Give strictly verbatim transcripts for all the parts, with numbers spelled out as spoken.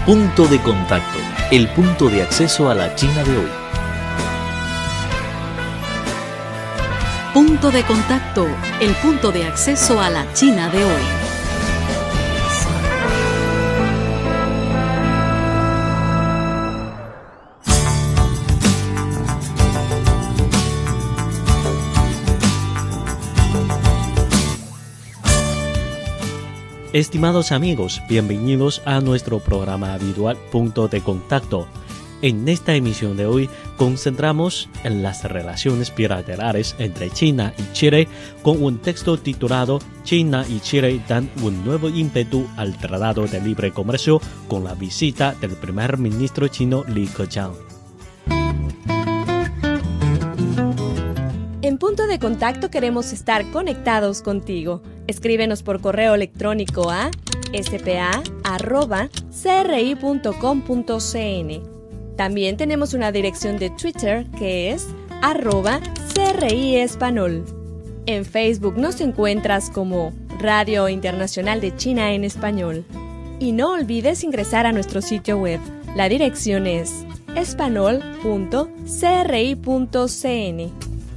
Punto de contacto, el punto de acceso a la China de hoy. Punto de contacto, el punto de acceso a la China de hoy. Estimados amigos, bienvenidos a nuestro programa habitual Punto de Contacto. En esta emisión de hoy concentramos en las relaciones bilaterales entre China y Chile con un texto titulado China y Chile dan un nuevo ímpetu al Tratado de Libre Comercio con la visita del primer ministro chino Li Keqiang. En Punto de Contacto queremos estar conectados contigo. Escríbenos por correo electrónico a s p a arroba c r i punto com punto c n. También tenemos una dirección de Twitter que es arroba C R I Español. En Facebook nos encuentras como Radio Internacional de China en Español. Y no olvides ingresar a nuestro sitio web. La dirección es espanol punto c r i punto c n.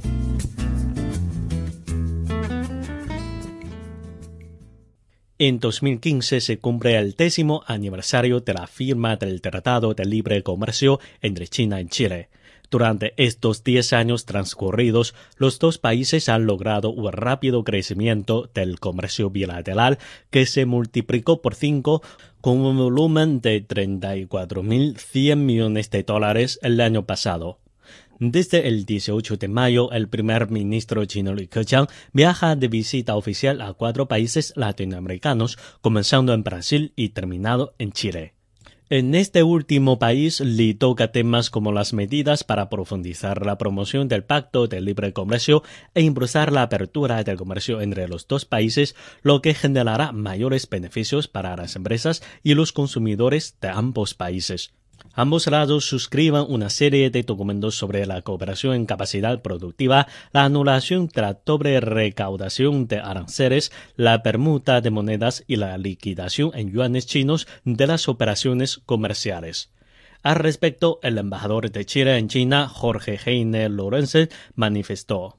En dos mil quince se cumple el décimo aniversario de la firma del Tratado de Libre Comercio entre China y Chile. Durante estos diez años transcurridos, los dos países han logrado un rápido crecimiento del comercio bilateral que se multiplicó por cinco con un volumen de treinta y cuatro mil cien millones de dólares el año pasado. Desde el dieciocho de mayo, el primer ministro chino Li Keqiang viaja de visita oficial a cuatro países latinoamericanos, comenzando en Brasil y terminado en Chile. En este último país, Li toca temas como las medidas para profundizar la promoción del Pacto de Libre Comercio e impulsar la apertura del comercio entre los dos países, lo que generará mayores beneficios para las empresas y los consumidores de ambos países. Ambos lados suscriban una serie de documentos sobre la cooperación en capacidad productiva, la anulación de la doble recaudación de aranceles, la permuta de monedas y la liquidación en yuanes chinos de las operaciones comerciales. Al respecto, el embajador de Chile en China, Jorge Heiner Lorenzen, manifestó.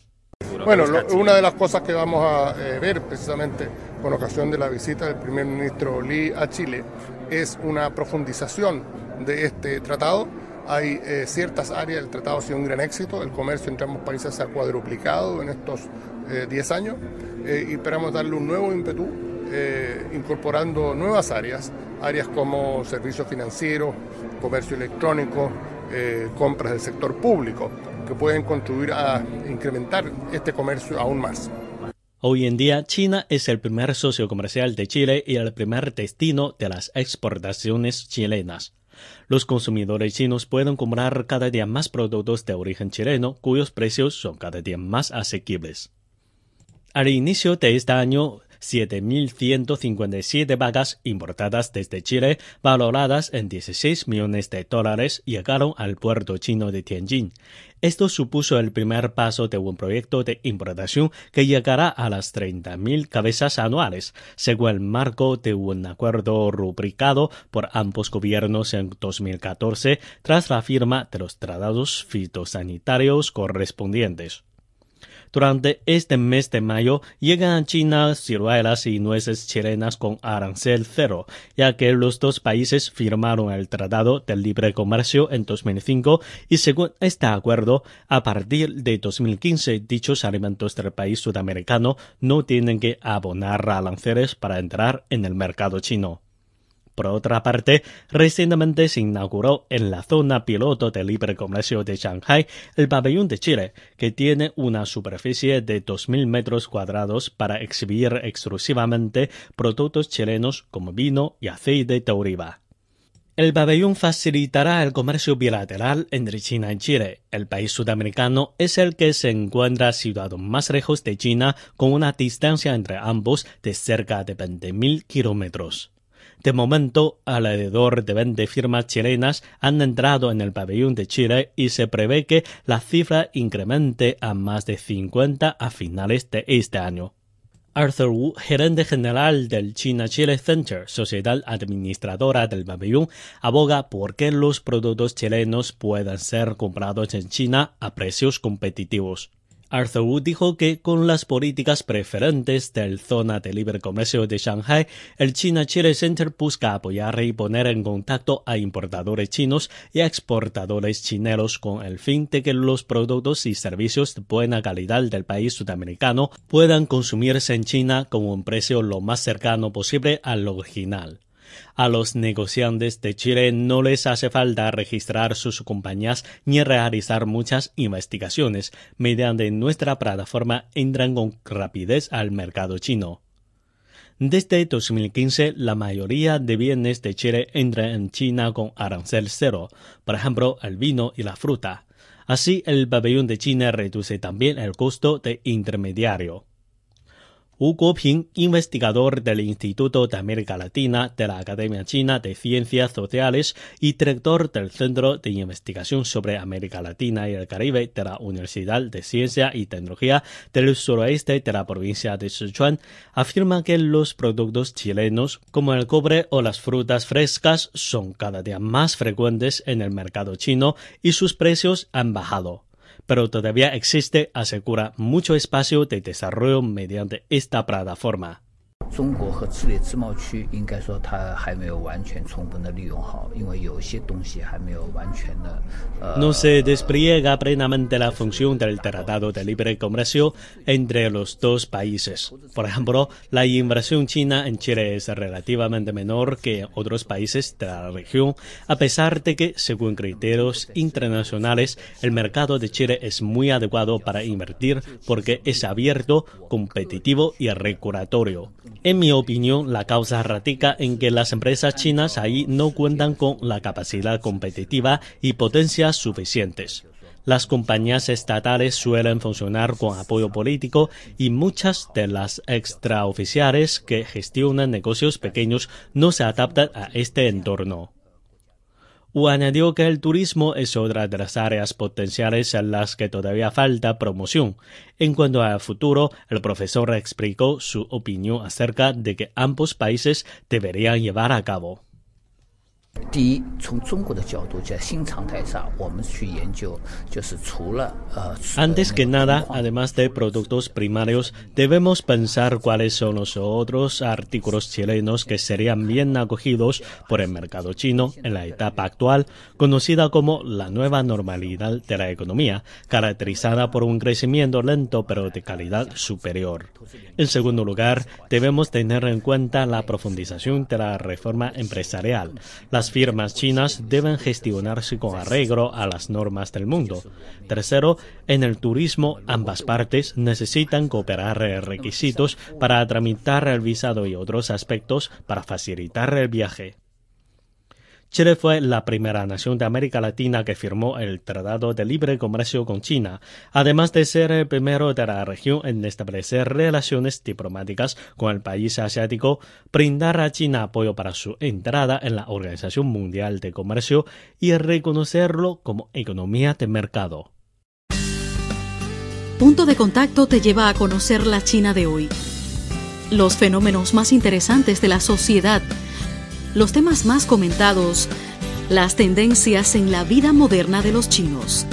Bueno, lo, una de las cosas que vamos a eh, ver precisamente con ocasión de la visita del primer ministro Li a Chile es una profundización de este tratado. Hay eh, ciertas áreas, el tratado ha sido un gran éxito, el comercio entre ambos países se ha cuadruplicado en estos diez eh, años eh, y esperamos darle un nuevo ímpetu eh, incorporando nuevas áreas, áreas como servicios financieros, comercio electrónico, eh, compras del sector público, que pueden contribuir a incrementar este comercio aún más. Hoy en día, China es el primer socio comercial de Chile y el primer destino de las exportaciones chilenas. Los consumidores chinos pueden comprar cada día más productos de origen chileno, cuyos precios son cada día más asequibles. Al inicio de este año, siete mil ciento cincuenta y siete vacas importadas desde Chile, valoradas en dieciséis millones de dólares, llegaron al puerto chino de Tianjin. Esto supuso el primer paso de un proyecto de importación que llegará a las treinta mil cabezas anuales, según el marco de un acuerdo rubricado por ambos gobiernos en dos mil catorce, tras la firma de los tratados fitosanitarios correspondientes. Durante este mes de mayo llegan a China ciruelas y nueces chilenas con arancel cero, ya que los dos países firmaron el Tratado de Libre Comercio en dos mil cinco y según este acuerdo, a partir de dos mil quince dichos alimentos del país sudamericano no tienen que abonar aranceles para entrar en el mercado chino. Por otra parte, recientemente se inauguró en la zona piloto de libre comercio de Shanghái el pabellón de Chile, que tiene una superficie de dos mil metros cuadrados para exhibir exclusivamente productos chilenos como vino y aceite de oliva. El pabellón facilitará el comercio bilateral entre China y Chile. El país sudamericano es el que se encuentra situado más lejos de China, con una distancia entre ambos de cerca de veinte mil kilómetros. De momento, alrededor de veinte firmas chilenas han entrado en el pabellón de Chile y se prevé que la cifra incremente a más de cincuenta a finales de este año. Arthur Wu, gerente general del China-Chile Center, sociedad administradora del pabellón, aboga por que los productos chilenos puedan ser comprados en China a precios competitivos. Arthur Wu dijo que con las políticas preferentes del Zona de Libre Comercio de Shanghai, el China-Chile Center busca apoyar y poner en contacto a importadores chinos y a exportadores chilenos con el fin de que los productos y servicios de buena calidad del país sudamericano puedan consumirse en China con un precio lo más cercano posible al original. A los negociantes de Chile no les hace falta registrar sus compañías ni realizar muchas investigaciones. Mediante nuestra plataforma entran con rapidez al mercado chino. Desde dos mil quince, la mayoría de bienes de Chile entran en China con arancel cero, por ejemplo, el vino y la fruta. Así, el pabellón de China reduce también el costo de intermediario. Wu Guoping, investigador del Instituto de América Latina de la Academia China de Ciencias Sociales y director del Centro de Investigación sobre América Latina y el Caribe de la Universidad de Ciencia y Tecnología del Suroeste de la provincia de Sichuan, afirma que los productos chilenos, como el cobre o las frutas frescas, son cada día más frecuentes en el mercado chino y sus precios han bajado. Pero todavía existe, asegura, mucho espacio de desarrollo mediante esta plataforma. No se despliega plenamente la función del Tratado de Libre Comercio entre los dos países. Por ejemplo, la inversión china en Chile es relativamente menor que en otros países de la región, a pesar de que, según criterios internacionales, el mercado de Chile es muy adecuado para invertir porque es abierto, competitivo y regulatorio. En mi opinión, la causa radica en que las empresas chinas ahí no cuentan con la capacidad competitiva y potencias suficientes. Las compañías estatales suelen funcionar con apoyo político y muchas de las extraoficiales que gestionan negocios pequeños no se adaptan a este entorno. Wu añadió que el turismo es otra de las áreas potenciales en las que todavía falta promoción. En cuanto al futuro, el profesor explicó su opinión acerca de que ambos países deberían llevar a cabo. Antes que nada, además de productos primarios, debemos pensar cuáles son los otros artículos chilenos que serían bien acogidos por el mercado chino en la etapa actual, conocida como la nueva normalidad de la economía, caracterizada por un crecimiento lento pero de calidad superior. En segundo lugar, debemos tener en cuenta la profundización de la reforma empresarial. Las firmas chinas deben gestionarse con arreglo a las normas del mundo. Tercero, en el turismo, ambas partes necesitan cooperar en requisitos para tramitar el visado y otros aspectos para facilitar el viaje. Chile fue la primera nación de América Latina que firmó el Tratado de Libre Comercio con China, además de ser el primero de la región en establecer relaciones diplomáticas con el país asiático, brindar a China apoyo para su entrada en la Organización Mundial de Comercio y reconocerlo como economía de mercado. Punto de Contacto te lleva a conocer la China de hoy, los fenómenos más interesantes de la sociedad, los temas más comentados, las tendencias en la vida moderna de los chinos.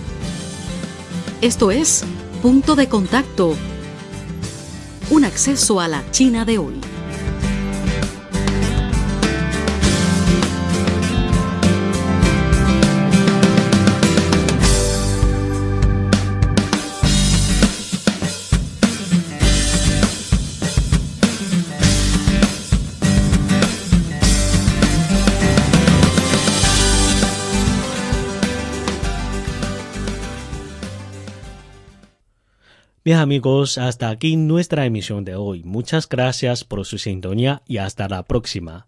Esto es Punto de Contacto, un acceso a la China de hoy. Bien amigos, hasta aquí nuestra emisión de hoy. Muchas gracias por su sintonía y hasta la próxima.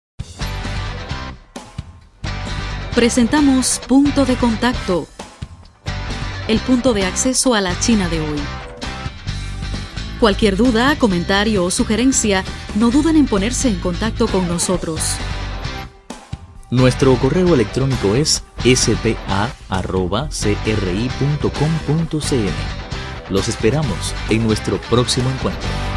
Presentamos Punto de Contacto, el punto de acceso a la China de hoy. Cualquier duda, comentario o sugerencia, no duden en ponerse en contacto con nosotros. Nuestro correo electrónico es s p a arroba c r i punto com punto c n. Los esperamos en nuestro próximo encuentro.